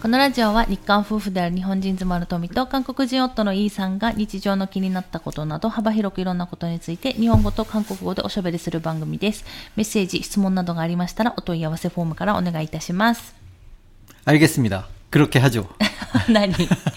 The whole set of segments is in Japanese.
このラジオは日韓夫婦である日本人妻の富と韓国人夫のイーさんが日常の気になったことなど幅広くいろんなことについて日本語と韓国語でおしゃべりする番組です。メッセージ、質問などがありましたらお問い合わせフォームからお願いいたします。 알겠습니다. 그렇게 하죠. 何?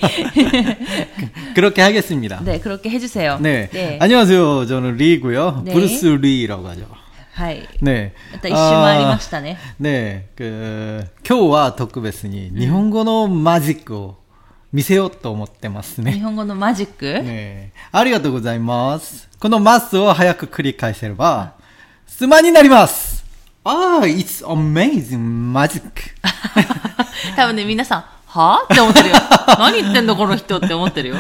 그렇게 하겠습니다. 네, 그렇게 해주세요. 네. 네. 안녕하세요. 저는 리고요. 네. 브루스 리라고 하죠. はい。 네. また一周回りましたね。 네. 今日は特別に日本語のマジックを見せようと思ってますね。 日本語のマジック？ ね。ありがとうございます。このマスを早く繰り返せれば、スマになります。it's amazing magic. 多分ね、皆さん、はぁって思ってるよ。何言ってんのこの人って思ってるよ。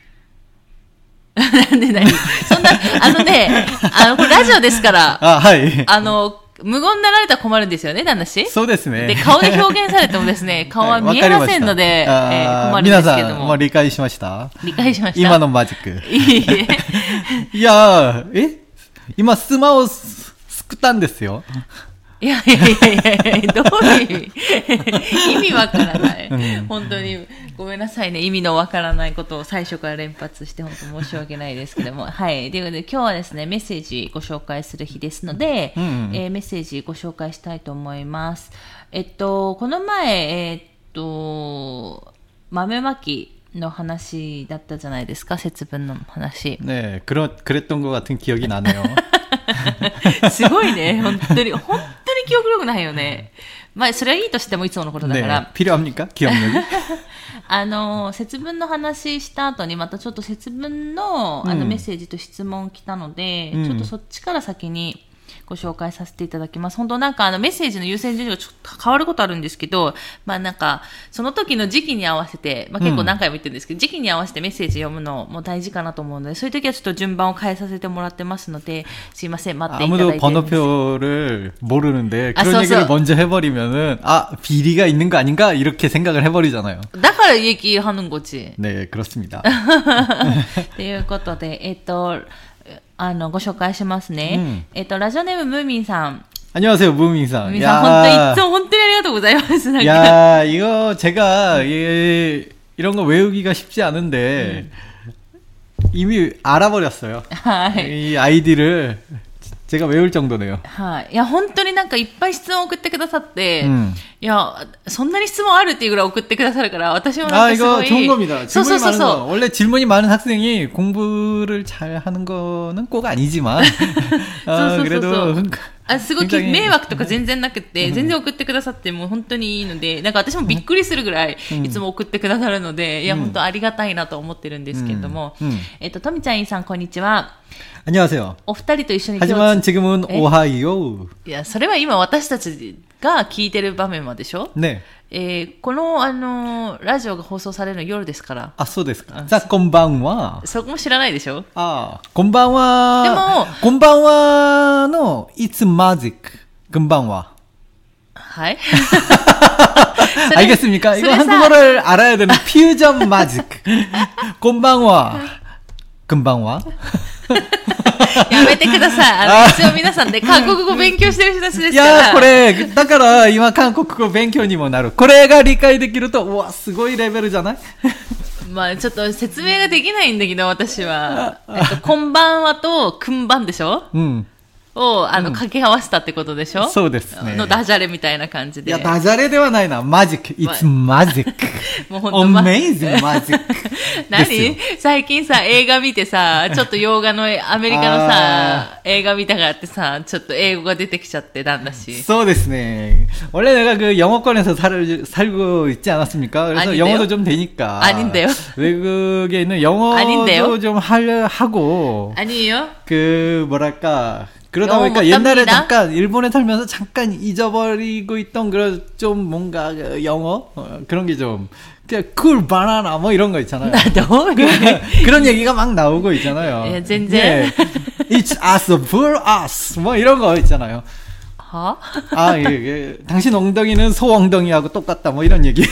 なんで何そんな、これラジオですから、 はい。 無言になられたら困るんですよね、旦那氏。 そうですね。 で、顔で表現されてもですね、顔は見えませんので、困るんですけども。 皆さん、もう理解しました？ 理解しました。 今のマジック。 いいえ。 いやー、今スマをすくったんですよ。 いや、どういう意味わからない、本当にごめんなさいね。意味のわからないことを最初から連発して本当申し訳ないですけども。はい。ということで今日はですね、メッセージご紹介する日ですので、メッセージご紹介したいと思います。この前、豆まきの話だったじゃないですか、節分の話。 ね、그랬던 것 같은 기억이 나네요. すごいね。本当に記憶力ないよね。まあ、それはいいとしてもいつものことだから。 ね、필요합니까? 기억력이? 節分の話した後にまたちょっと節分の、メッセージと質問来たので、ちょっとそっちから先にご紹介させていただきます。本当なんかメッセージの優先順位がちょっと変わることあるんですけど、まあなんか、その時の時期に合わせて、まあ結構何回も言ってるんですけど、時期に合わせてメッセージ読むのも大事かなと思うので、そういう時はちょっと順番を変えさせてもらってますので、すいません、待っていただいてるんです。 아무도 번호표를 모르는데 그런 얘기를 먼저 해버리면은 비리가 있는 거 아닌가 이렇게 생각을 해버리잖아요. だから얘기하는 거지. 네, 그렇습니다. ということで、ご紹介しますね。ラジオネームムーミンさん。 안녕하세요, 무민상. 무민상, 本当にありがとうございます。 야, 이거 제가 이런 거 외우기가 쉽지 않은데 이미 알아버렸어요. 이 아이디를 제가 외울 정도네요. はい。いや、本当になんかいっぱい質問を送ってくださって、いや、そんなに質問あるっていうぐらい送ってくださるから、私もなんかすごい。 이거 좋은 겁니다. 질문이 많은 거. 원래 질문이 많은 학생이 공부를 잘 하는 거는 꼭 아니지만, 그래도. すごい迷惑とか全然なくて、全然送ってくださってもう本当にいいので、なんか私もびっくりするぐらいいつも送ってくださるので、いや本当ありがたいなと思ってるんですけれども、とみちゃんいさんこんにちは。 안녕하세요. お二人と一緒に 하지만 지금은 오하이오. いや、それは今私たちが聞いてる場面までしょ？ 네. このラジオが放送されるの夜ですから。 そうですか。さあ、こんばんは。 そこも知らないでしょ？ こんばんは。 でも、 こんばんはの、It's magic. こんばんは。 はい。 알겠습니까? 이거 한국어를 알아야 되는 퓨전 마직. こんばんは。こんばんは。 やめてください。一応皆さんで韓国語勉強してる人たちですから。 いや、これ、だから今韓国語勉強にもなる。これが理解できると、うわ、すごいレベルじゃない？ まあちょっと説明ができないんだけど、私は。こんばんはと、くんばんでしょ？を、掛け合わせたってことでしょ？ そうですね。 のダジャレみたいな感じで。 いや、ダジャレではないな。マジック。It's magic. もう本当 Amazing magic. 何？最近さ、映画見てさ、ちょっと洋画のアメリカのさ、映画見たがってさ、ちょっと英語が出てきちゃってなんだし。 そうですね。원래 내가 그 영어권에서 살고 있지 않았습니까? 그래서 아닌데요? 영어도 좀 되니까. 아닌데요? 외국에 있는 영어도 아닌데요? 좀 하고. 아니에요? 뭐랄까. 그러다 보니까 옛날에 잠깐 일본에 살면서 잠깐 잊어버리고 있던 그런 좀 뭔가 영어 그런 게 좀 그냥 쿨 바나나 뭐 이런 거 있잖아요. 그런 얘기가 막 나오고 있잖아요. 예, 젠제. It's us for us 뭐 이런 거 있잖아요. 예. 당신 엉덩이는 소 엉덩이하고 똑같다 뭐 이런 얘기.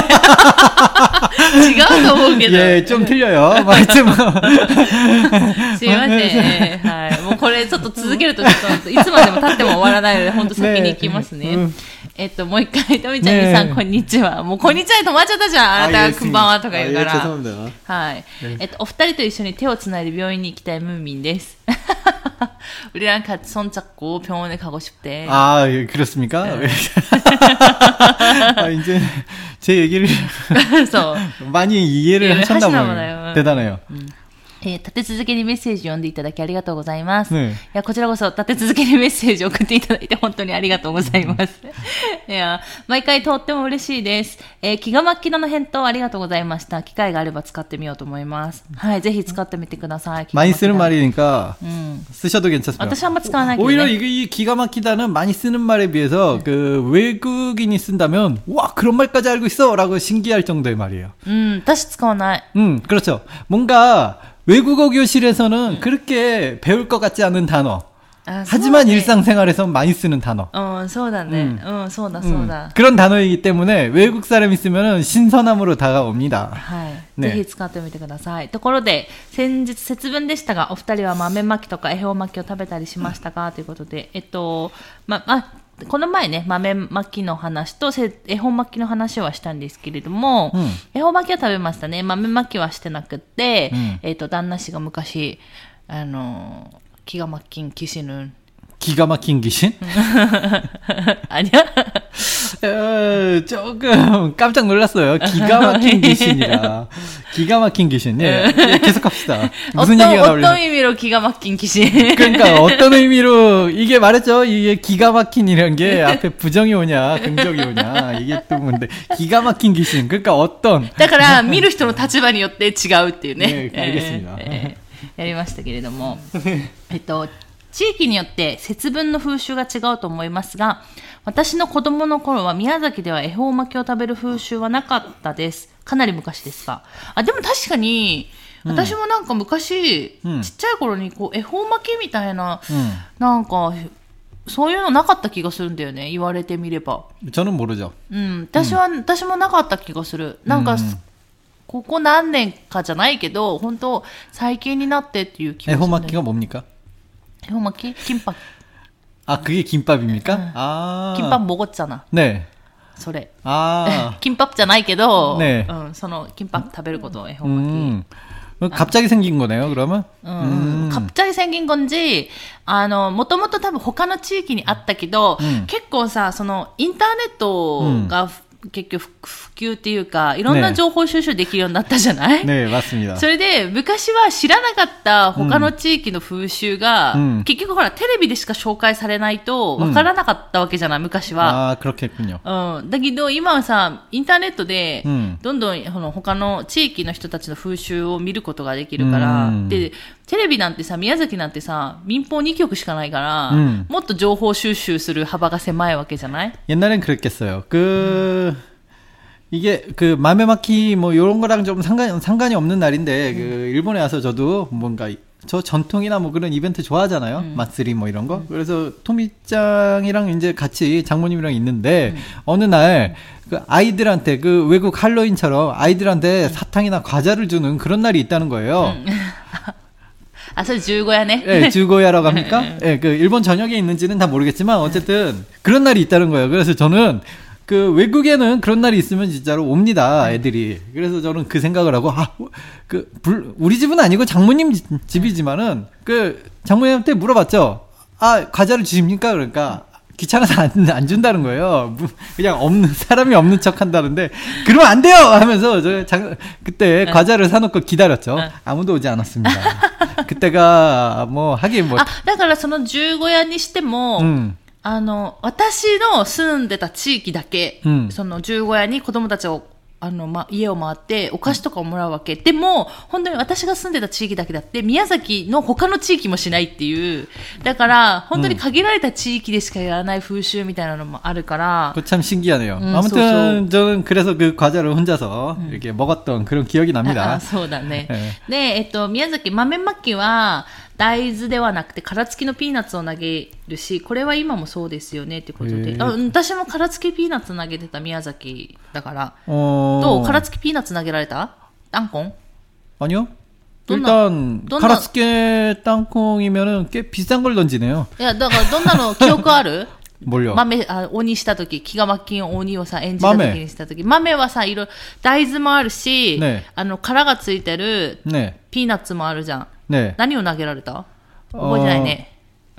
違うと思うけど。 예, 좀 틀려요. 하여튼 すいません。はい。もうこれちょっと続けるとちょっといつまでも経っても終わらないので、本当先に行きますね。 もう一回、とみちゃんにさん、こんにちは。もう、こんにちはで止まっちゃったじゃん。あなたがこんばんはとか言うから。はい。お二人と一緒に手をつないで病院に行きたいムーミンです。우리랑 같이 손잡고 병원에 가고 싶대. 아, 그렇습니까? 이제 제 얘기를 많이 이해를 하셨나 봐요. 대단해요. 立て続けにメッセージ読んでいただきありがとうございます。いや、こちらこそ立て続けにメッセージを送っていただいて本当にありがとうございます。いや、毎回とっても嬉しいです。気が巻きの返答ありがとうございました。機会があれば使ってみようと思います。はい、ぜひ使ってみてください。 많이 쓰는 말이니까 쓰셔도 괜찮습니다. 私はあんま使わないけどね。 오히려 이 기가 막히다는 많이 쓰는 말에 비해서 그 외국인이 쓴다면 와, 그런 말까지 알고 있어라고 신기할 정도의 말이에요. 私使わない。 그렇죠. 뭔가 외국어 교실에서는 그렇게 배울 것 같지 않은 단어. 하지만 일상생활에서 많이 쓰는 단어. そうだね。そうだそうだ。 그런 단어이기 때문에 외국 사람이 쓰면은 신선함으로 다가옵니다. はい。ぜひ使ってみてください。ところで、先日節分でしたが、お二人は豆まきとか恵方巻きを食べたりしましたかということで、この前ね、豆巻きの話と恵方巻きの話はしたんですけれども、恵方巻きは食べましたね。豆巻きはしてなくって、旦那氏が昔、기가 막힌 귀신은 기가 막힌 귀신? 아니야? 조금 깜짝 놀랐어요. 기가 막힌 귀신이라. 기가 막힌 귀신. 예, 계속 합시다. 무슨 얘기가 나오려나? 어떤 의미로 기가 막힌 귀신? 그러니까 어떤 의미로 이게 말했죠. 이게 기가 막힌이란 게 앞에 부정이 오냐, 긍정이 오냐. 이게 또 뭔데 기가 막힌 귀신. 그러니까 어떤. だから見る人の立場によって違うっていうね。 네, 알겠습니다. やりましたけれども、地域によって節分の風習が違うと思いますが、私の子供の頃は宮崎では恵方巻きを食べる風習はなかったです。かなり昔ですが。でも確かに、私もなんか昔、ちっちゃい頃にこう恵方巻きみたいな、なんか、そういうのなかった気がするんだよね。言われてみれば。 저는 모르죠. 私もなかった気がする。なんか、ここ何年かじゃないけど、本当最近になってっていう気がする。 恵方巻きが뭡니까? 恵方巻き? 김밥. 아, 그게 김밥입니까? 아. 김밥 먹었잖아. 네. それ. 아. 김밥 じゃないけど, 네. その 김밥 食べること、恵方巻き. 갑자기 생긴 거네요, 그러면? 갑자기 생긴 건지, もともと多分他の地域にあったけど、結構さ、そのインターネットが、結局普及っていうかいろんな情報収集できるようになったじゃない？ ね、맞습니다。 それで昔は知らなかった他の地域の風習が、結局ほらテレビでしか紹介されないとわからなかったわけじゃない、昔は。 あ、그렇겠군요。 だけど今はさインターネットでどんどん他の地域の人たちの風習を見ることができるから、でテレビなんてさ、宮崎なんてさ、民放2局しかないから、もっと情報収集する幅が狭いわけじゃない？ 옛날엔 그랬겠어요. 이게 마메마키 뭐 요런 거랑 좀 상관이 없는 날인데 일본에 와서 저도 뭔가 저 전통이나 뭐 그런 이벤트 좋아하잖아요. 마쓰리 뭐 이런 거. 그래서 토미짱이랑 이제 같이 장모님이랑 있는데 어느 날 아이들한테 외국 할로윈처럼 아이들한테 사탕이나 과자를 주는 그런 날이 있다는 거예요. 아, 저 주고야네. 네, 주고야라고 합니까? 네, 일본 전역에 있는지는 다 모르겠지만 어쨌든 그런 날이 있다는 거예요. 그래서 저는 외국에는 그런 날이 있으면 진짜로 옵니다, 애들이. 그래서 저는 그 생각을 하고, 우리 집은 아니고 장모님 집이지만은, 장모님한테 물어봤죠. 아, 과자를 주십니까? 그러니까, 귀찮아서 안 준다는 거예요. 그냥 사람이 없는 척 한다는데, 그러면 안 돼요! 하면서, 그때 과자를 사놓고 기다렸죠. 아무도 오지 않았습니다. 그때가, 하긴 뭐. だからその十五夜にしても、私の住んでた地域だけ、その十五夜に子供たちを、家を回ってお菓子とかをもらうわけ。でも、本当に私が住んでた地域だけだって、宮崎の他の地域もしないっていう。だから、本当に限られた地域でしかやらない風習みたいなのもあるから。 참 신기하네요. 아무튼, 저는 그래서 그 과자를 혼자서 이렇게 먹었던 그런 기억이 납니다. そうだね。で、宮崎豆まきは、大豆ではなくて殻付きのピーナッツを投げるし、これは今もそうですよねってことで、私も殻付きピーナッツ投げてた宮崎だから。どう？殻付きピーナッツ投げられた？땅콩? 아니요. 일단 가라스케 땅콩이면은 꽤 비싼 걸 던지네요. 야, だからどんなの記憶ある？ 뭘요? 豆、鬼したとき、気が巻き鬼をさ、演じたときにしたとき、豆はさ、大豆もあるし、殻がついてる、ピーナッツもあるじゃん。何を投げられた？覚えてないね。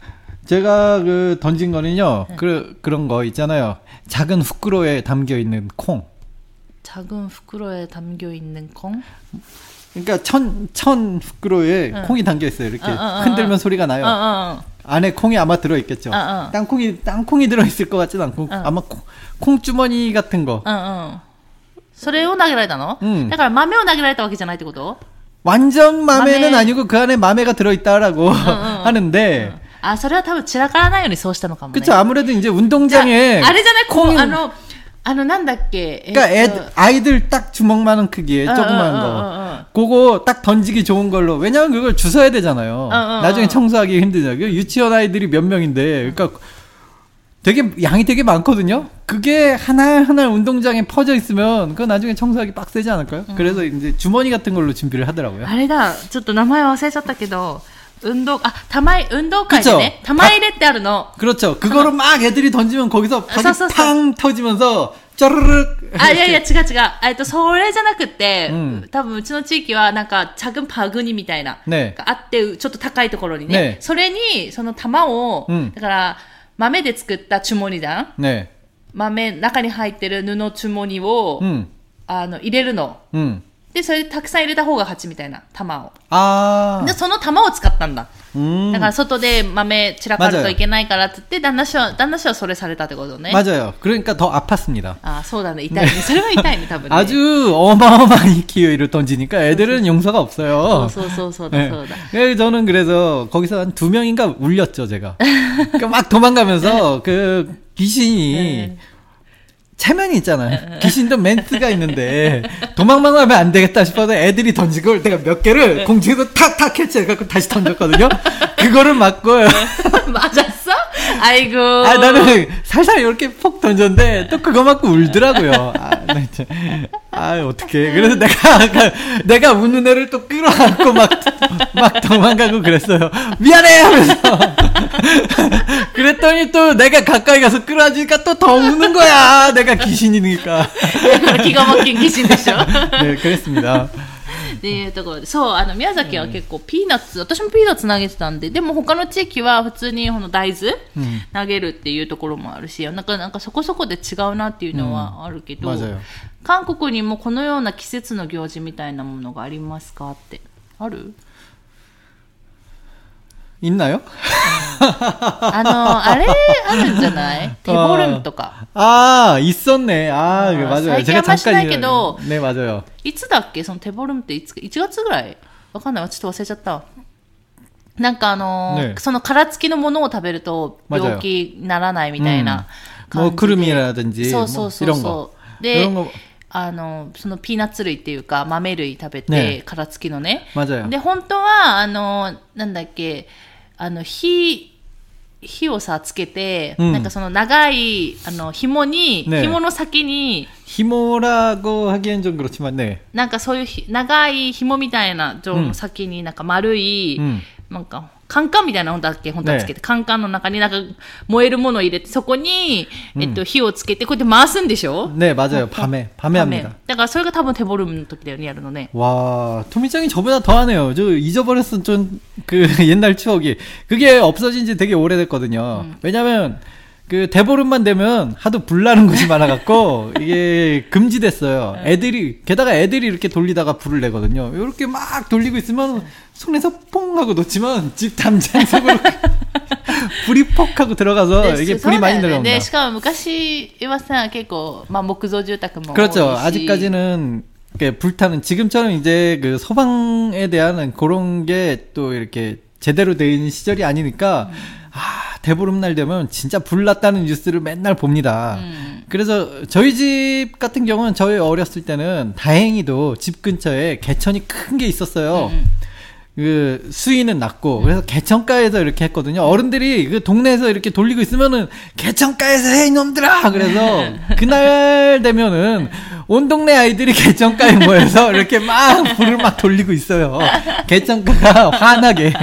제가 던진 거는요, 그런 거 있잖아요. 작은 후크로에 담겨 있는 콩. 작은 후크로에 담겨 있는 콩? 그러니까 천 후크로에 콩이 담겨 있어요. 이렇게 흔들면 소리가 나요. 안에 콩이 아마 들어 있겠죠. 땅콩이 들어 있을 것 같진 않고 아마 콩 주머니 같은 거. それを投げられたの? だから豆を投げられたわけじゃないってこと? 완전 맘에는 아니고 그 안에 맘에가 들어 있다라고 하는데. それは多分散らからないようにそうしたのかもね. 그쵸. 아무래도 이제 운동장에 あれじゃない、콩なんだっけ. 그러니까 아이들 딱 주먹만한 크기의 조그만 거. 그거 딱 던지기 좋은 걸로. 왜냐면 그걸 주워야 되잖아요. 나중에 청소하기 힘들잖아요. 유치원 아이들이 몇 명인데. 그러니까 양이 되게 많거든요. 그게 하나하나 운동장에 퍼져 있으면 그거 나중에 청소하기 빡세지 않을까요? 그래서 이제 주머니 같은 걸로 준비를 하더라고요. あれだ、ちょっと名前忘れちゃったけど. 운동運動会でね、玉入れってあるの. 그렇죠. 그거로 막 애들이 던지면 거기서 팡 터지면서 쩌르륵. いや違う。それじゃなくて、多分うちの地域はなんか작은 바구니みたいながあって、ちょっと高いところにね。それにその玉を、だから豆で作ったチュモニだ。豆中に入ってる布チュモニを入れるの。で、それでたくさん入れた方が勝ちみたいな、玉を。で、その玉を使ったんだ。だから外で豆散らかるといけないからって言って、旦那氏はそれされたってことね。 맞아요. 그러니까 더 아팠습니다. そうだね。痛いね。それは痛いね、多分ね。 아주 어마어마한 기회를 던지니까 애들은 용서가 없어요. そうだ。 저는 그래서 거기서 한 2명인가 울렸죠, 제가. 그러니까 막 도망가면서 그 귀신이 체면이 있잖아요. 귀신도 멘트가 있는데 도망만 가면 안 되겠다 싶어서 애들이 던진 걸 내가 몇 개를 공중에서 탁탁 캐치해갖고 다시 던졌거든요. 그거를 맞고 맞았어? 아이고. 나는 살살 이렇게 폭 던졌는데 또 그거 맞고 울더라고요. 어떡해. 그래서 내가 우는 애를 또 끌어안고 막 도망가고 그랬어요. 미안해! 하면서. 그랬더니 또 내가 가까이 가서 끌어안으니까 또 더 우는 거야. 내가 귀신이니까. 기가 막힌 귀신 でしょ? 네, 그랬습니다. っていうところで、そう、宮崎は結構ピーナッツ、私もピーナッツ投げてたんで、でも他の地域は普通に大豆投げるっていうところもあるし、なんかそこそこで違うなっていうのはあるけど、韓国にもこのような季節の行事みたいなものがありますかって、ある 있나요? あれあるんじゃない？テボルンとか。 있었네. 맞아요. 最近あんましないけど、 네, 맞아요. いつだっけそのテボルンって1月ぐらいわかんない。ちょっと忘れちゃった。なんかね、 その殻付きのものを食べると病気にならないみたいな感じで。 クルミ라든지 そう。で、そのピーナッツ類っていうか豆類食べて、殻付きのね。で、本当は、なんだっけ、火をさつけて、なんかその長い紐の先に紐라고 하기엔 좀 그렇지만ね、 なんかそういう長い紐みたいな先になんか丸い、なんかカンカンみたいな本当はつけて、カンカンの中になんか燃えるものを入れて、そこに、火をつけて、こうやって回すんでしょ? 네, 맞아요. 밤에 합니다. だからそれが多分テボルンの時だよね、やるのね. 와, 토미짱이 저보다 더 하네요. 저 잊어버렸어, 좀, 옛날 추억이. 그게 없어진 지 되게 오래됐거든요. 왜냐면, 대보름만 되면 하도 불나는 곳이 많아갖고, 이게 금지됐어요. 게다가 애들이 이렇게 돌리다가 불을 내거든요. 이렇게 막 돌리고 있으면, 손에서 퐁 하고 놓치면, 집 담장 속으로 불이 퍽 하고 들어가서, 이게 불이 많이 들어온다. 네, しかも昔はさ、結構、木造住宅も 그렇죠. 아직까지는, 불타는, 지금처럼 이제 소방에 대한 그런 게 또 이렇게 제대로 돼 있는 시절이 아니니까, 대보름날 되면 진짜 불났다는 뉴스를 맨날 봅니다. 그래서 저희 집 같은 경우는 저희 어렸을 때는 다행히도 집 근처에 개천이 큰 게 있었어요. 수위는 낮고 그래서 개천가에서 이렇게 했거든요. 어른들이 동네에서 이렇게 돌리고 있으면은 개천가에서 해 이놈들아. 그래서 그날 되면은 온 동네 아이들이 개천가에 모여서 이렇게 막 불을 막 돌리고 있어요. 개천가가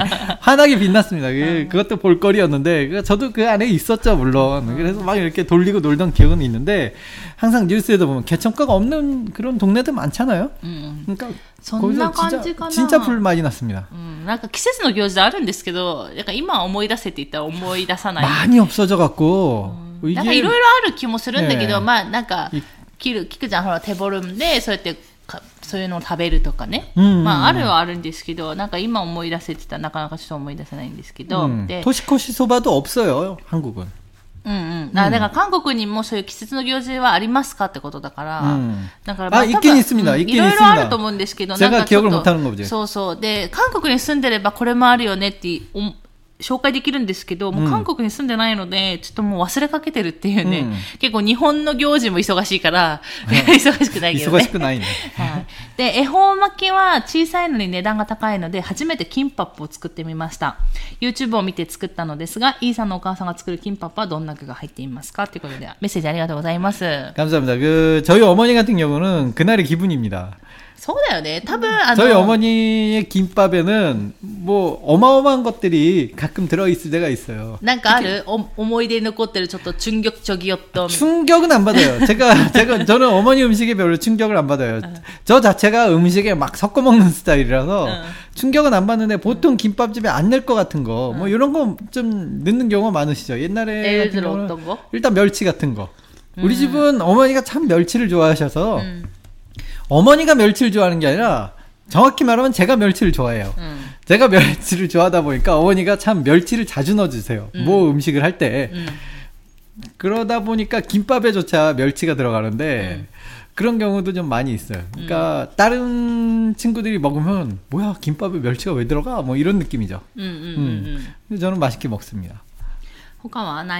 환하게 빛났습니다. 그것도 볼거리였는데 저도 그 안에 있었죠 물론. 그래서 막 이렇게 돌리고 놀던 기억은 있는데 항상 뉴스에도 보면 개천가가 없는 그런 동네들 많잖아요. 그러니까 거기서 진짜 불 많이 났습니다. なんか季節の行事あるんですけど、なんか今思い出せって言ったら思い出さない。 많이 없어져 갖고 なんかいろいろある気もするんだけど、まあなんか聞くじゃん、ほら手ボルムでそうやってそういうのを食べるとかね、まああるはあるんですけど、なんか今思い出せって言ったらなかなかちょっと思い出せないんですけど、で年越しそば도 없어요 한국은。 だから韓国にもそういう季節の行事はありますかってことだから、だからまあ있긴 있습니다。 いろいろあると思うんですけど、なんかちょっとそうそうで韓国に住んでればこれもあるよねって紹介できるんですけど、もう韓国に住んでないので、ちょっともう忘れかけてるっていうね、結構日本の行事も忙しいから、忙しくないけどね。 忙しくないね。 はい。で、恵方巻きは小さいのに値段が高いので、初めてキンパップを作ってみました。YouTube を見て作ったのですが、イーさんのお母さんが作るキンパップはどんな具が入っていますかということで、メッセージありがとうございます。 감사합니다. 저희 어머니 같은 경우는 그날의 기분입니다. そうだよね。多分 저희 어머니의 김밥에는 뭐 어마어마한 것들이 가끔 들어있을 때가 있어요. なんかある思い出に残ってるちょっと충격적이었던. 충격은 안 받아요. 저는 어머니 음식에 별로 충격을 안 받아요. 저 자체가 음식에 막 섞어 먹는 스타일이라서 충격은 안 받는데 보통 김밥집에 안 넣을 것 같은 거, 뭐 이런 거 좀 넣는 경우가 많으시죠. 옛날에 예를 들어 어떤 거? 일단 멸치 같은 거. 우리 집은 어머니가 참 멸치를 좋아하셔서. 어머니가 멸치를 좋아하는 게 아니라 정확히 말하면 제가 멸치를 좋아해요. 제가 멸치를 좋아하다 보니까 어머니가 참 멸치를 자주 넣어주세요. 뭐 음식을 할 때. 그러다 보니까 김밥에조차 멸치가 들어가는데 그런 경우도 좀 많이 있어요. 그러니까 다른 친구들이 먹으면 뭐야 김밥에 멸치가 왜 들어가? 뭐 이런 느낌이죠. 저는 맛있게 먹습니다. 他はない?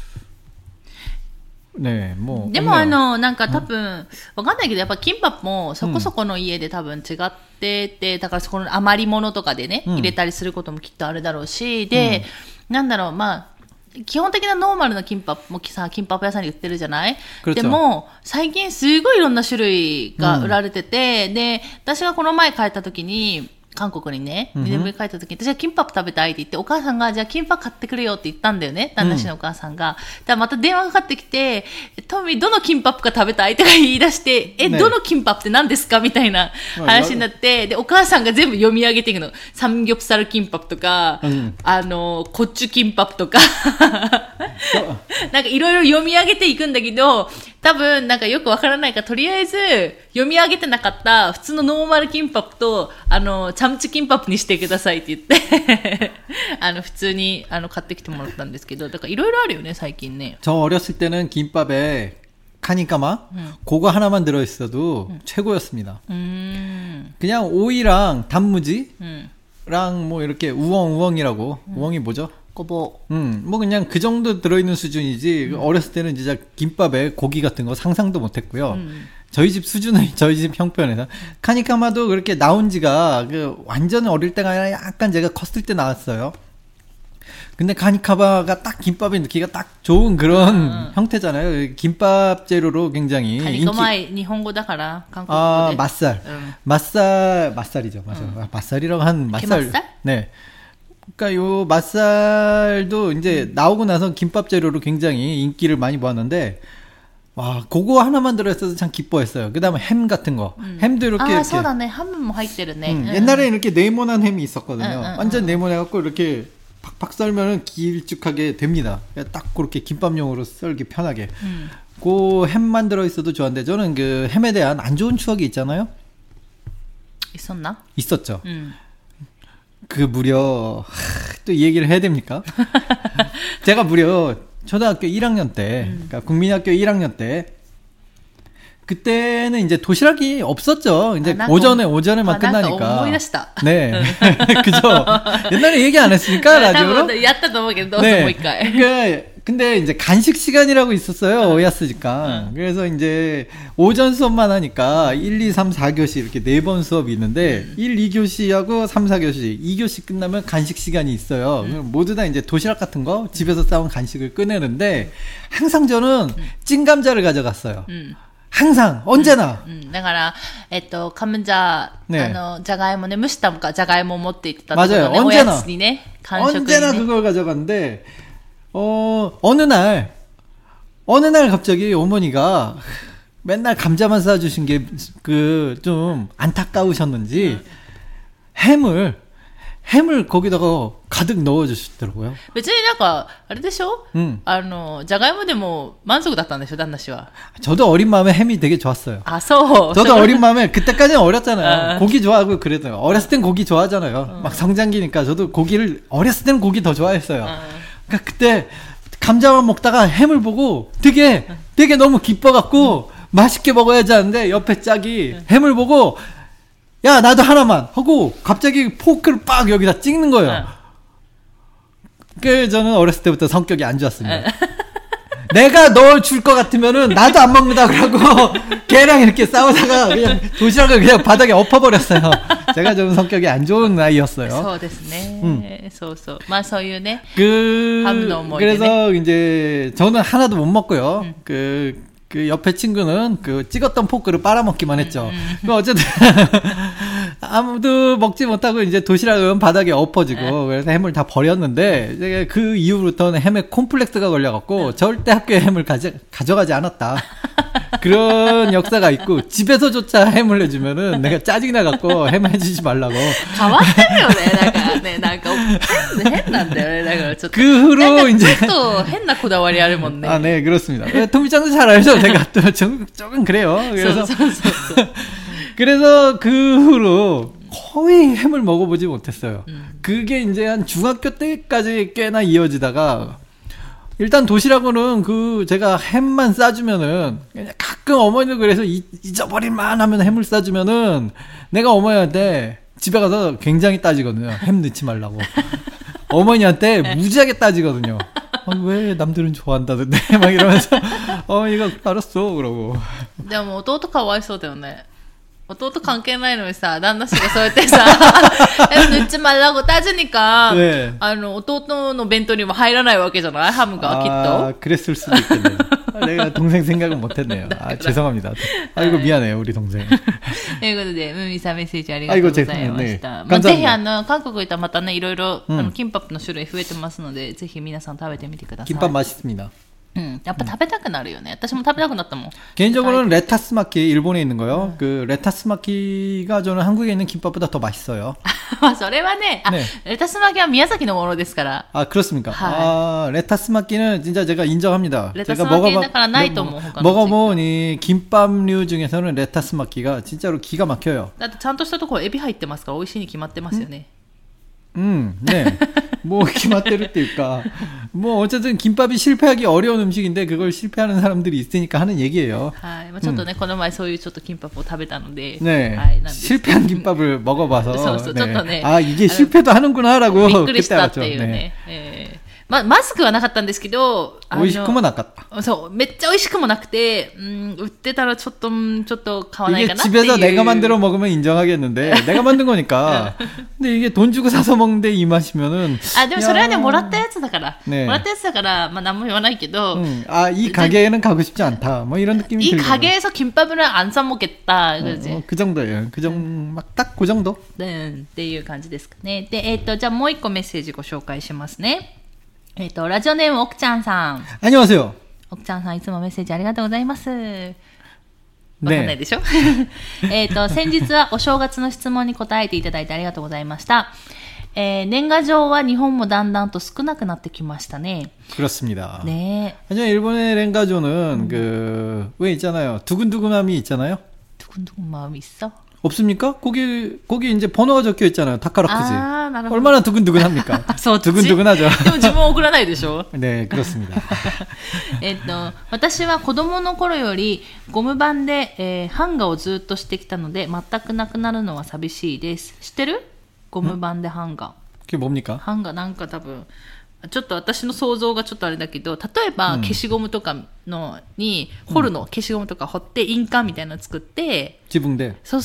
네, 뭐. でもなんか多分、わかんないけど、やっぱキンパップもそこそこの家で多分違ってて、だからそこの余り物とかでね、入れたりすることもきっとあるだろうし、で、なんだろう、まあ、基本的なノーマルなキンパップもさ、キンパップ屋さんに売ってるじゃない？でも、最近すごいいろんな種類が売られてて、で、私がこの前帰った時に、韓国にね、2年ぶり帰った時に、私はキンパップ食べたいって言って、お母さんが、じゃあキンパップ買ってくれよって言ったんだよね、旦那氏のお母さんが。でまた電話がかかってきて、トミー、どのキンパップが食べたいとか言い出して、どのキンパップって何ですかみたいな話になって、で、お母さんが全部読み上げていくの。サムギョプサルキンパップとか、コッチュキンパップとか、なんかいろいろ読み上げていくんだけど、多分なんかよくわからないから、とりあえず読み上げてなかった普通のノーマルキンパップと、チャムチキンパップにしてくださいって言って普通に買ってきてもらったんですけど、だからいろいろあるよね最近ね。 저 어렸을 때는 김밥에 카니까마 그거 하나만 들어있어도 최고였습니다. 그냥 오이랑 단무지랑 뭐 이렇게 우엉우엉이라고 우엉이 뭐죠? 고보. 뭐 그냥 그 정도 들어있는 수준이지. 어렸을 때는 진짜 김밥에 고기 같은 거 상상도 못했고요. 저희 집 수준은 저희 집 형편에서 카니카마도 그렇게 나온 지가 완전 어릴 때가 아니라 약간 제가 컸을 때 나왔어요. 근데 카니카마가 딱 김밥에 넣기가 딱 좋은 그런 형태잖아요. 김밥 재료로 굉장히 카니카마의 일본어다から 한국어로 맛살이죠. 맞아요. 맛살이라고 한 맛살. 게맛살? 네. 그러니까 요 맛살도 이제 나오고 나서 김밥 재료로 굉장히 인기를 많이 모았는데, 와, 그거 하나만 들어있어서 참 기뻐했어요. 그 다음에 햄 같은 거. 햄도 이렇게. 아, そうだね. 햄은 入ってるね. 옛날에 이렇게 네모난 햄이 있었거든요. 완전 네모내갖고 이렇게 팍팍 썰면은 길쭉하게 됩니다. 딱 그렇게 김밥용으로 썰기 편하게. 그 햄만 들어있어도 좋았는데, 저는 그 햄에 대한 안 좋은 추억이 있잖아요. 있었나? 있었죠. 그 무려 또 이 얘기를 해야 됩니까? 제가 무려 초등학교 1학년 때, 그러니까 국민학교 1학년 때, 그때는 이제 도시락이 없었죠. 이제 오전에만 끝나니까. 네. 그죠? 옛날에 얘기 안 했으니까, 라디오로. 네. 근데 이제 간식 시간이라고 있었어요. 오야스니까. 그래서 이제 오전 수업만 하니까 1, 2, 3, 4교시 이렇게 4번 수업이 있는데 1, 2교시하고 3, 4교시, 2교시 끝나면 간식 시간이 있어요. 모두 다 이제 도시락 같은 거 집에서 싸온 간식을 꺼내는데 항상 저는 찐감자를 가져갔어요. 항상 언제나. だから、カムジャ、 ね、 じゃがいもね、蒸したじゃがいもを持って行ってたってことね、 맞아요. おやつにね、間食にね。 언제나 그걸 가져갔는데, 어느 날 갑자기 어머니가 맨날 감자만 싸주신 게 좀 안타까우셨는지 햄을 거기다가 가득 넣어주시더라고요. 別になんかあれでしょ、じゃがいもでも満足だったんでしょ、旦那氏は。 저도 어린 마음에 햄이 되게 좋았어요. 아, 저도 어린 마음에 그때까지는 어렸잖아요. 고기 좋아하고 그랬어요. 어렸을 땐 고기 좋아하잖아요. 막 성장기니까 저도 고기를 어렸을 때는 고기 더 좋아했어요. 그러니까 그때 감자만 먹다가 햄을 보고 되게 너무 기뻐갖고 맛있게 먹어야지 하는데 옆에 짝이 햄을 보고 야 나도 하나만 하고 갑자기 포크를 빡 여기다 찍는 거예요. 그 저는 어렸을 때부터 성격이 안 좋았습니다. 내가 넣어줄 것 같으면은 나도 안 먹는다 그러고 걔랑 이렇게 싸우다가 그냥 도시락을 그냥 바닥에 엎어버렸어요. 제가 좀 성격이 안 좋은 아이였어요. そうですね。そうそう。まあそういうね。 그래서 이제 저는 하나도 못 먹고요. 그 옆에 친구는 그 찍었던 포크를 빨아먹기만 했죠. 어쨌든 아무도 먹지 못하고 이제 도시락은 바닥에 엎어지고 그래서 햄을 다 버렸는데 이제 그 이후부터는 햄에 콤플렉스가 걸려갖고 절대 학교에 햄을 가져가지 않았다. 그런 역사가 있고 집에서조차 햄을 해주면은 내가 짜증이 나갖고 햄 해주지 말라고. 変わってるよね。なんか変なんだよね。だからちょっと 그 후로 이제 ちょっと変なこだわりあるもんね。 아, 네, 그렇습니다. 토미짱도 잘 알죠. 제가 또 조금 그래요. 그래서 그래서 그 후로 거의 햄을 먹어보지 못했어요. 그게 이제 한 중학교 때까지 꽤나 이어지다가 일단 도시락으로는 제가 햄만 싸주면은 가끔 어머니도 그래서 잊어버릴만 하면 햄을 싸주면은 내가 어머니한테 집에 가서 굉장히 따지거든요. 햄 넣지 말라고. 어머니한테 무지하게 따지거든요. 왜 남들은 좋아한다던데 막 이러면서 어머니가 알았어 그러고. でも弟かわいそうだよね。弟関係ないのにさ、旦那氏がそうやってさ、늦지 말라고 따지니까, 네. 弟の弁当にも入らないわけじゃないハムが、きっと。 아, 그랬을 수도 있겠네요. 내가 동생 생각은 못했네요. 아, 죄송합니다. 아이고, 미안해요, 우리 동생. ということで、ムミさんメッセージありがとうございました。まあ、ぜひ韓国行ったらまたね、いろいろ、キンパップの種類増えてますので、ぜひ皆さん食べてみてください。 김밥 맛있습니다. やっぱ食べたくなるよね。私も食べたくなったもん。 개인적으로는 레타스 마키 일본에 있는 거요. 그 레타스 마키가 저는 한국에 있는 김밥보다 더 맛있어요. まあそれはね、 ねレタス巻きは宮崎のものですから。 아 그렇습니까? 하이. 아 레타스 마키는 진짜 제가 인정합니다. 레타스 제가 마키는だからないと思う。 먹어본 이 김밥류 중에서는 레타스 마키가 진짜로 기가 막혀요. だってちゃんとしたところエビ入ってますから美味しいに決まってますよね。 네. 뭐 기맛대로 때일까. 뭐 어쨌든 김밥이 실패하기 어려운 음식인데 그걸 실패하는 사람들이 있으니까 하는 얘기예요. はい。まあちょっとね、この前そういうちょっと金箔を食べたので、 네. はい。なんです 실패한 김밥을 먹어봐서 そう、ちょっとね、 아 이게 실패도 하는구나라고 びっくりし 그때 たって 알았죠. いう 네. ね。まずくはなかったんですけど、 美味しくもなかった。 そう、めっちゃ美味しくもなくて、売ってたらちょっと買わないかなっていう。 이게 집에서 내가 만들어 먹으면 인정하겠는데 내가 만든 거니까. 근데 이게 돈 주고 사서 먹는데 이 맛이면은. 아, でもそれはね、もらったやつだから。 네. もらったやつだから、まあ何も言わないけど。 아, 이 가게에는 가고 싶지 않다. 뭐 이런 느낌이 이 들고. 가게에서 김밥을 안 사 먹겠다. 그러지. 그 정도예요. 그 정도, 막 딱 그 정도. っていう感じですかね。で、じゃあもう一個メッセージご紹介しますね。ラジオネーム奥ちゃんさん。 안녕하세요. 奥ちゃんさんいつもメッセージありがとうございます。わかんないでしょ先日はお正月の質問に答えていただいてありがとうございました。年賀状は日本もだんだんと少なくなってきましたね。 그렇습니다. 네. 하지만 일본의 랭가조는 왜 있잖아요. 두근두근함이 있잖아요. 두근두근 마음이 있어? 없습니까? 거기 이제 번호가 적혀 있잖아요. 다카라쿠지. 아, 얼마나 두근두근합니까? 두근두근하죠. でも自分送らないでしょ 네, 그렇습니다. 私は子供の頃よりゴム板で、版画をずっとしてきたので全くなくなるのは寂しいです。知ってる？ゴム板で版画。 그게 뭡니까? 版画なんか多分ちょっと私の想像がちょっとあれだけど、例えば消しゴムとかのに彫るの、消しゴムとか彫って印鑑みたいなの作って、 自分で。 そう。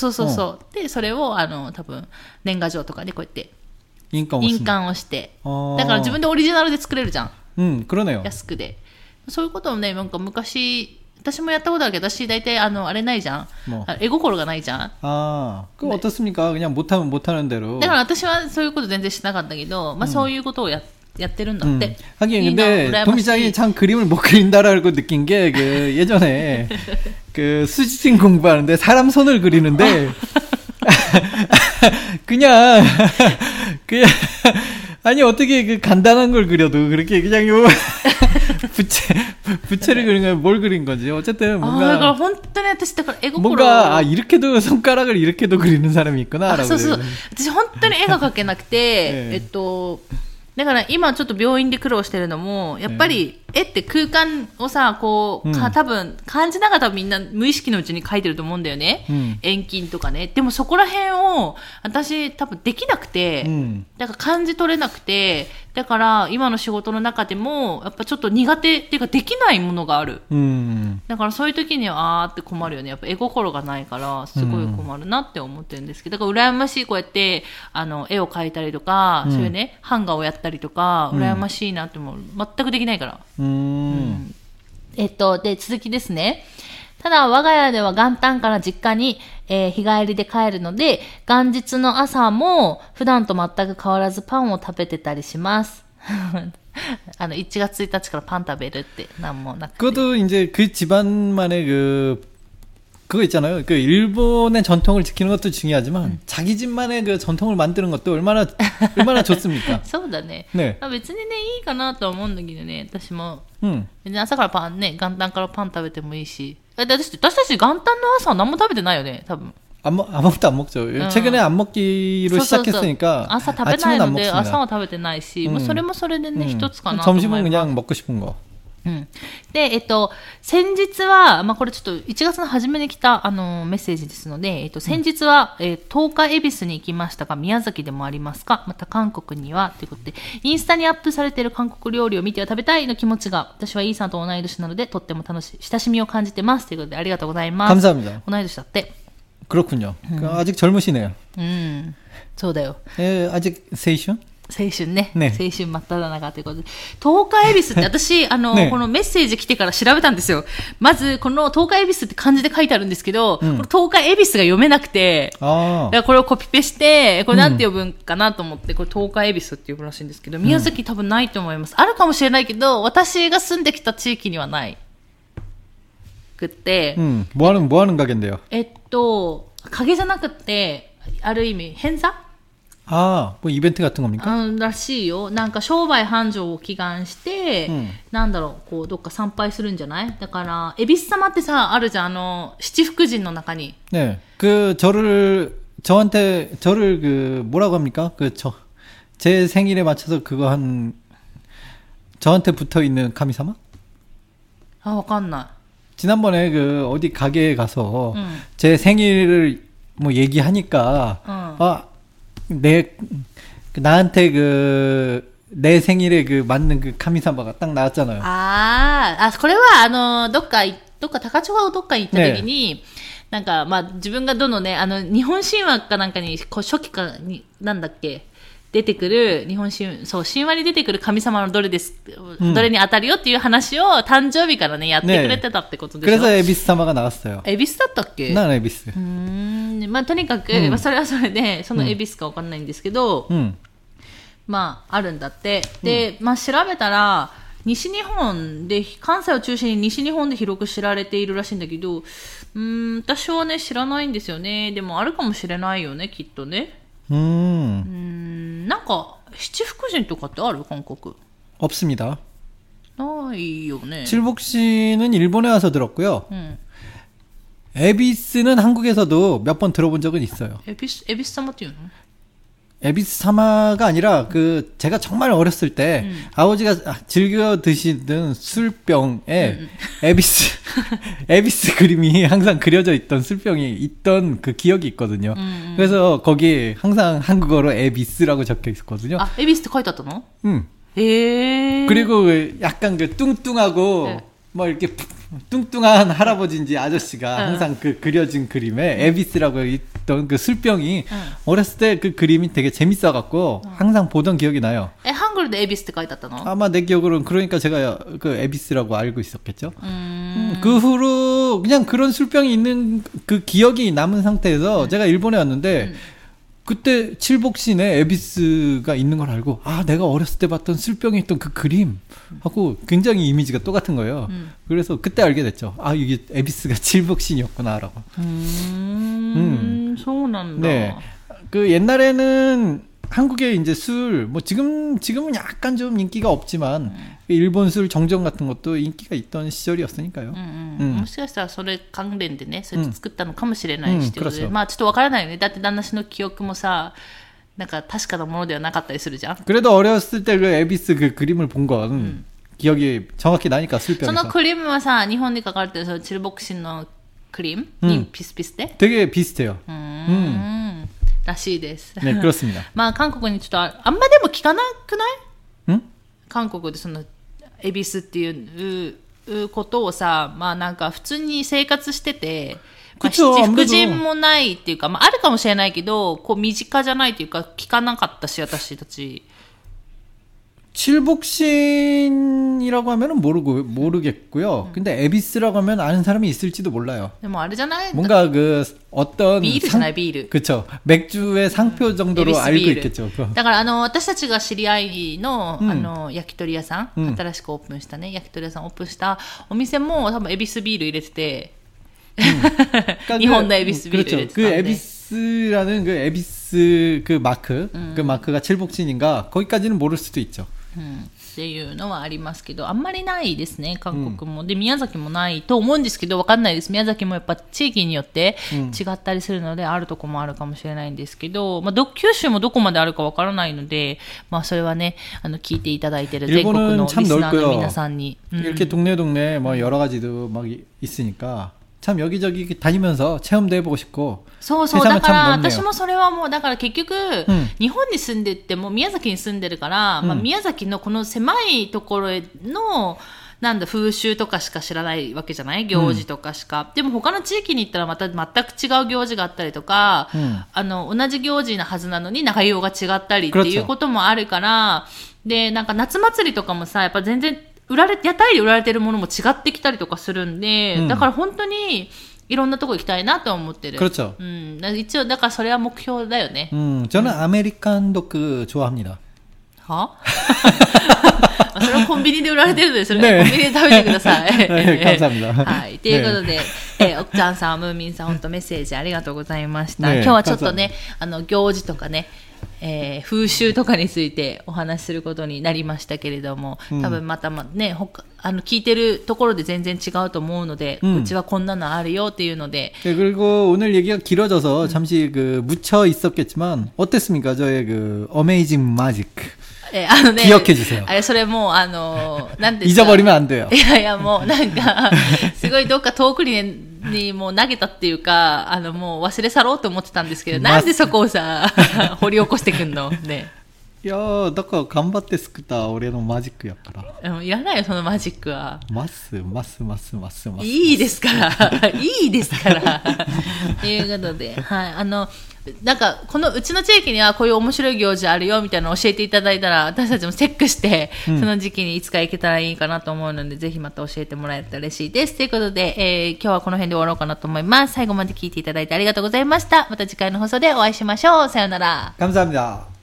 でそれを多分年賀状とかでこうやって印鑑をして、だから自分でオリジナルで作れるじゃん。 그러네요. 安くで。そういうことをね、なんか昔私もやったことあるけど、私大体あれないじゃん。絵心がないじゃん。 그럼 어떻습니까? 그냥 못하면 못하는 대로. だから私はそういうこと全然しなかったけど、まあそういうことをやってるんだって。 하긴 근데 도미짱이 참 그림을 못 그린다라고 느낀 게 그 예전에 그 수지진 공부하는데 사람 손을 그리는데 그냥 아니 어떻게 그 간단한 걸 그려도 그렇게 그냥 요 부채를 그린 거야. 뭘 그린 건지 어쨌든 뭔가 뭔가 이렇게도 손가락을 이렇게도 그리는 사람이 있구나라고. そうそう。私本当に絵が描けなくて、だから今ちょっと病院で苦労してるのも、やっぱり絵って空間をさ、こう、多分感じながらみんな無意識のうちに描いてると思うんだよね。遠近とかね。でもそこら辺を私多分できなくて、だから感じ取れなくて、だから今の仕事の中でもやっぱちょっと苦手っていうかできないものがある。だからそういう時にはあーって困るよね。やっぱ絵心がないからすごい困るなって思ってるんですけど、だから羨ましいこうやって絵を描いたりとか、そういうね版画をやったりとか羨ましいなって思う。全くできないから。で続きですね。ただ我が家では元旦から実家に、日帰りで帰るので、元日の朝も普段と全く変わらずパンを食べてたりします。1月1日からパン食べるってなんもなくて。 그것도 이제 그 집안만의 그거 있잖아요. 그 일본의 전통을 지키는 것도 중요하지만 자기 집만의 그 전통을 만드는 것도 얼마나 좋습니까? そうだね。 네. 別にねいいかなとは思うんだけどね。私も別に朝からパンね、元旦からパン食べてもいいし。私たち元旦の朝は何も食べてないよね、多分。 아무것도 안 먹죠. 최근에 안 먹기로 시작했으니까 아침은 안 먹습니다. 朝は食べてないし、もうそれもそれでね、一つかなと思います。 점심은 그냥 먹고 싶은 거. で、先日は、まあ、これちょっと1月の初めに来た、メッセージですので、先日は、10日恵比寿に行きましたが、宮崎でもありますか？また韓国には、ということで、インスタにアップされている韓国料理を見ては食べたいの気持ちが、私はイーさんと同い年なので、とっても楽しい、親しみを感じてます。ということで、ありがとうございます。 감사합니다. 同い年だって。 그렇군요. 아직 젊으시네요. そうだよ。 아직 세이션? 青春ね。青春真っ只中ということで。東海恵比寿って私、このメッセージ来てから調べたんですよ。まず、この東海恵比寿って漢字で書いてあるんですけど、この東海恵比寿が読めなくて、だからこれをコピペして、これなんて呼ぶんかなと思って、これ東海恵比寿って呼ぶらしいんですけど、宮崎多分ないと思います。あるかもしれないけど、私が住んできた地域にはないくって。 뭐 하는 가게인데요? 影じゃなくて、ある意味、偏差 뭐 이벤트 같은 겁니까? らしいよ。なんか商売繁盛を祈願して、なんだろう、こう、どっか参拝するんじゃない？だから、恵比寿様ってさ、あるじゃん、七福神の中に。 네. 저를 뭐라고 합니까? 제 생일에 맞춰서 저한테 붙어 있는 카미사마? わかんない。 지난번에 어디 가게에 가서 제 생일을 뭐 얘기하니까, 나한테 내 생일에 맞는 카미사마가 딱 나왔잖아요. これはどっか高千穂どっかに行った時に、なんかまあ自分がどのね日本神話かなんかに初期かになんだっけ出てくる日本神話に出てくる神様のどれに当たるよっていう話を誕生日からねやってくれてたってことでしょ。 그래서 에비스사마가 나왔어요. 恵比寿だったっけ？ 난 에비스. まあとにかく、それはそれでその恵比寿かわかんないんですけど、まああるんだって。で、まあ調べたら西日本で関西を中心に西日本で広く知られているらしいんだけど、私はね知らないんですよね。でもあるかもしれないよねきっとね。なんか七福神とかってある韓国？ 없습니다. ないよね. 칠복씨는 일본에 와서 들었고요. 에비스는 한국에서도 몇 번 들어본 적은 있어요. 에비스사마っていうの? 에비스사마가 아니라 제가 정말 어렸을 때 아버지가 즐겨 드시던 술병에 에비스 그림이 항상 그려져 있던 술병이 있던 그 기억이 있거든요. 그래서 거기 항상 한국어로 에비스라고 적혀 있었거든요. 에비스 って書いてあったの? 그리고 약간 뚱뚱하고 뭐 이렇게 뚱뚱한 할아버지인지 아저씨가 항상 그려진 그림에 에비스라고 있던 그 술병이 어렸을 때 그 그림이 되게 재밌어갖고 항상 보던 기억이 나요. 한글도 에비스 って書いてあったの? 아마 내 기억으로는 그러니까 제가 그 에비스라고 알고 있었겠죠. 그 후로 그냥 그런 술병이 있는 그 기억이 남은 상태에서 제가 일본에 왔는데 그때 칠복신에 에비스가 있는 걸 알고 내가 어렸을 때 봤던 술병에 있던 그 그림하고 굉장히 이미지가 똑같은 거예요. 그래서 그때 알게 됐죠. 이게 에비스가 칠복신이었구나라고. そうなんだ. 네. 그 옛날에는 한국에 이제 술, 뭐 지금은 약간 좀 인기가 없지만 일본 술 정점 같은 것도 인기가 있던 시절이었으니까요. もしかしたらそれ関連でね、それ作ったのかもしれないしってことで、まあちょっとわからないよね。だって旦那氏の記憶もさ、なんか確かなものではなかったりするじゃん。 그래도 어렸을 때 그 에비스 그 그림을 본 건 기억이 정확히 나니까 술병에서. そのクリームはさ、日本で書かれてるそのチルボクシンのクリームにピスピスで 되게 비슷해요. らしいです。 네, 그렇습니다. まあ韓国にちょっとあんまでも聞かなくない？ 응? 韓国でそのエビスっていうことをさ、まあなんか普通に生活してて、まあ、七福神もないっていうか、まああるかもしれないけど、こう身近じゃないっていうか聞かなかったし、私たち。 칠복신이라고 하면은 모르겠고요. 근데 에비스라고 하면 아는 사람이 있을지도 몰라요. でもあれじゃない？ 뭔가 그 어떤 ビールじゃないビール。 그렇죠. 맥주의 상표 정도로 알고 있겠죠. だから私たちが知り合いの焼き鳥屋さん、新しくオープンしたね焼き鳥屋さんオープンしたお店も多分エビスビール入れてて、日本のエビスビール入れてたんで。 그 에비스라는 그 에비스 그 마크, 그 마크가 칠복신인가 거기까지는 모를 수도 있죠. っていうのはありますけど、あんまりないですね、韓国も。で、宮崎もないと思うんですけど、わかんないです。宮崎もやっぱ地域によって違ったりするので、あるとこもあるかもしれないんですけど、まあ、九州もどこまであるかわからないので、まあ、それはね、聞いていただいている全国のリスナーの皆さんに。 이렇게 동네 뭐 여러 가지도 막 있으니까. 참 여기저기 다니면서 체험도 해보고 싶고. そうそう、だから私もそれはもうだから結局、日本に住んでても宮崎に住んでるから、まあ、宮崎のこの狭いところのなんだ風習とかしか知らないわけじゃない、行事とかしか。でも他の地域に行ったらまた全く違う行事があったりとか、同じ行事なはずなのに内容が違ったりっていうこともあるから、でなんか夏祭りとかもさ、やっぱ全然屋台で売られてるものも違ってきたりとかするんで、だから本当にいろんなとこ行きたいなと思ってる。 그렇죠. 一応だからそれは目標だよね。 저는 아메리칸 도크 좋아합니다. は？それはコンビニで売られてるので、それはコンビニで食べてください。 감사합니다. はい。ということで、奥ちゃんさん、ムーミンさん、本当メッセージありがとうございました。今日はちょっとね、行事とかね、風習とかについてお話しすることになりましたけれども、多分またね、聞いてるところで全然違うと思うので、うちはこんなのあるよっていうので。 그리고 오늘 얘기가 길어져서 잠시 묻혀 있었겠지만 어땠습니까? 저의 그 어메이징 마직. ね、 기억해주세요. それもなんですか 잊어버리면 안 돼요. いやいや、もうなんかすごいどっか遠くにもう投げたっていうか、もう忘れ去ろうと思ってたんですけど、なんでそこをさ掘り起こしてくんのね。 いやー、だから頑張って作った俺のマジックやから。 いらないよ、そのマジックは。 ます。 いいですから。いいですから。ということで、はい。なんか、このうちの地域にはこういう面白い行事あるよみたいなのを教えていただいたら、私たちもチェックして、その時期にいつか行けたらいいかなと思うので、ぜひまた教えてもらえたら嬉しいです。ということで、今日はこの辺で終わろうかなと思います。最後まで聞いていただいてありがとうございました。また次回の放送でお会いしましょう。さようなら。 감사합니다.